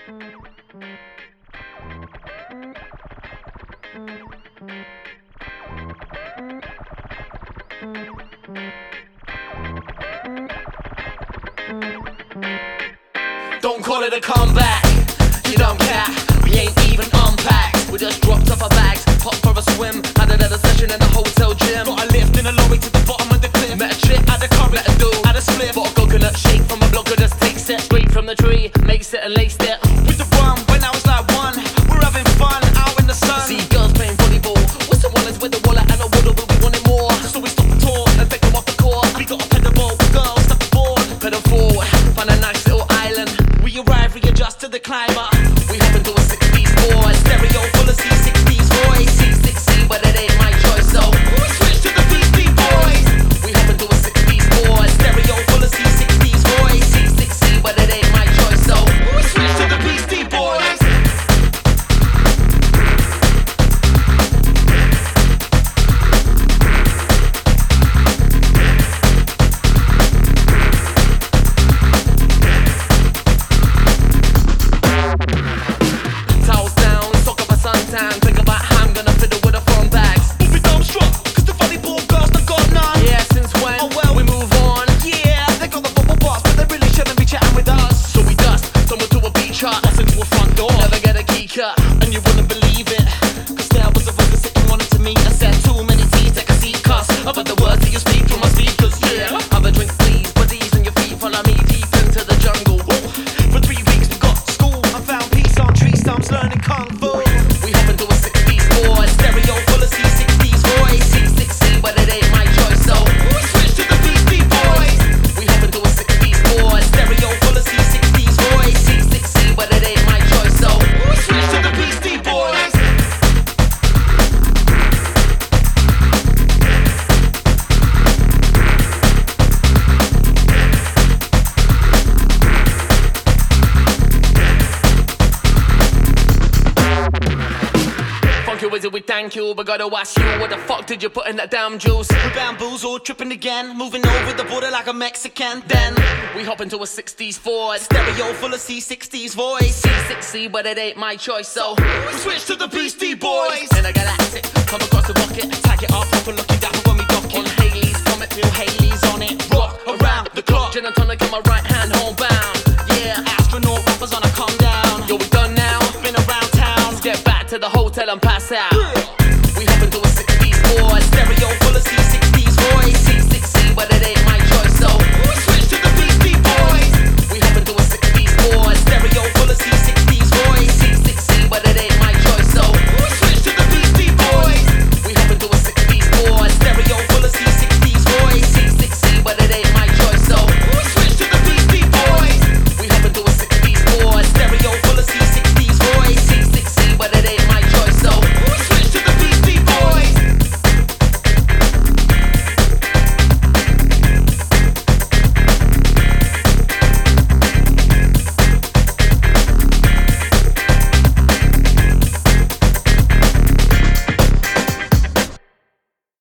Don't call it a comeback, you don't care, we ain't even unpacked. We just dropped off our bags, popped for a swim, had another session in the hotel gym. Got a lift in a lorry to the bottom of the cliff. Met a chick, had a curry, met a dude, had a split. Bought a coconut shake from a blogger, just takes it straight from the tree, makes it and laced it with the rum. When I was like one, we're having fun out in the sun. See girls playing volleyball, with some wallets with a wallet and a water, but we wanted more. So we stopped the tour and picked them off the court. We got a pedal boat, girls step aboard, pedal forward, find a nice little island. We arrive, readjust to the climate. We hop into a 60s boy, stereo full of C60s voice. C6C, but it ain't my choice, so we switch to the Beastie Boys. We hop into a 60s boy, stereo full of C60s voice. C6C, but it ain't my choice, so we switch to the Beastie Boys. Think about how I'm gonna fiddle with the phone bags. We'll be dumbstruck, cause the volleyball girls done got none. Yeah, since when? Oh well, we move on. Yeah, they got the bubble bars, but they really shouldn't be chatting with us. So we dust, stumble to a beach hut, bust into a front door, never get a key cut. And you wouldn't believe it, cause there was a woman sitting wanting to meet. I said too many T's, take a seat, cuss about the words that you speak from my speakers. Yeah, have a drink please, buddies on your feet, follow me deep into the jungle. Ooh. For 3 weeks we got school, I found peace on tree stumps, learning kung fu. Stereo full of C60s voice. C6C, but it ain't my choice, so we switch to the Beastie Boys. We hop into a 60s boy, stereo full of C60s voice. C6C, but it ain't my choice, so we switch to the Beastie Boys. Wizard, we thank you, but gotta ask you, what the fuck did you put in that damn juice? We bamboozled, tripping again, moving over the border like a Mexican. Then we hop into a 60s Ford, stereo full of C60s voice. C6C, but it ain't my choice, so we switch to the Beastie Boys. In a galactic, come across the rocket, tag it up, proper looking down when we dock on Haley's Comet, Bill Haley's on it, rock around the clock. Gin and tonic in my right hand, homebound. Yeah, astronaut rappers on a calm down. Yo, we done now, been around town. Let's get back to the hotel and pass out.